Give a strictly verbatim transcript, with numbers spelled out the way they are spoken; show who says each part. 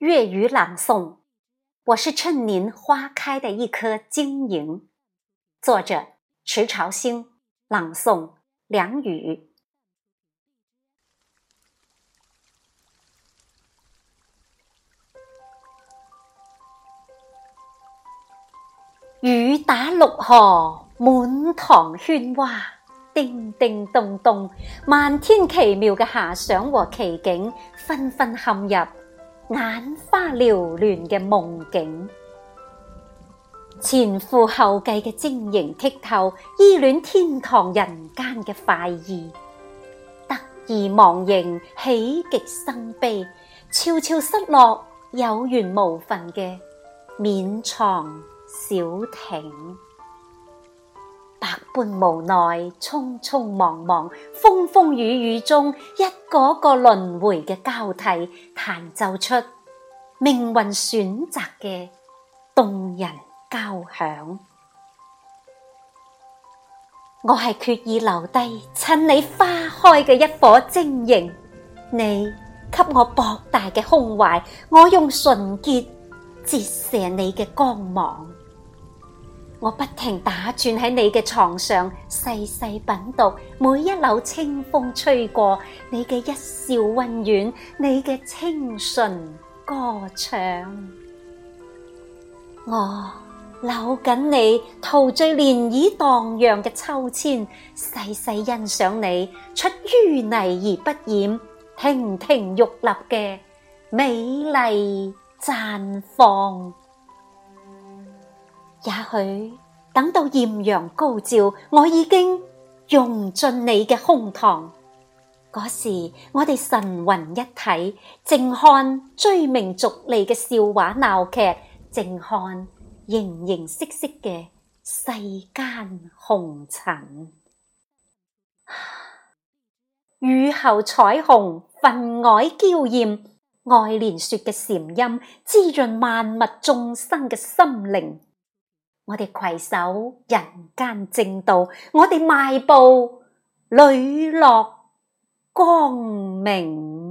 Speaker 1: 粵語朗誦，我是趁您花開的一顆晶瑩。作者池朝興，朗誦梁宇。雨打綠荷，滿堂喧嘩，叮叮咚咚，漫天奇妙嘅遐想和奇景，紛紛陷入眼花繚亂嘅夢境。前赴後繼嘅晶瑩剔透，依戀天堂人間嘅快意，得意忘形，喜極生悲，悄悄失落，有緣無分嘅勉藏小艇，百般無奈，匆匆忙忙，風風雨雨中，一個個輪迴嘅交替，彈奏出命運選擇嘅動人交響。我係決意留低，趁你花開嘅一顆晶瑩，你給我博大嘅胸懷，我用純潔折射你嘅光芒。我不停打轉喺你嘅床上，細細品讀每一縷清風吹過，你嘅一笑溫軟，你嘅清純歌唱。我扭緊你陶醉漣漪蕩漾嘅秋千，細細欣賞你出淤泥而不染，亭亭玉立嘅美麗綻放。也許等到豔陽高照，我已經用盡你嘅胸膛，嗰時我哋神魂一體，靜看追名逐利嘅笑話鬧劇，靜看形形色色嘅世間紅塵。雨後彩虹分外嬌豔，愛蓮說嘅禪音滋潤萬物眾生嘅心靈。我哋攜手人間正道，我哋邁步磊落光明。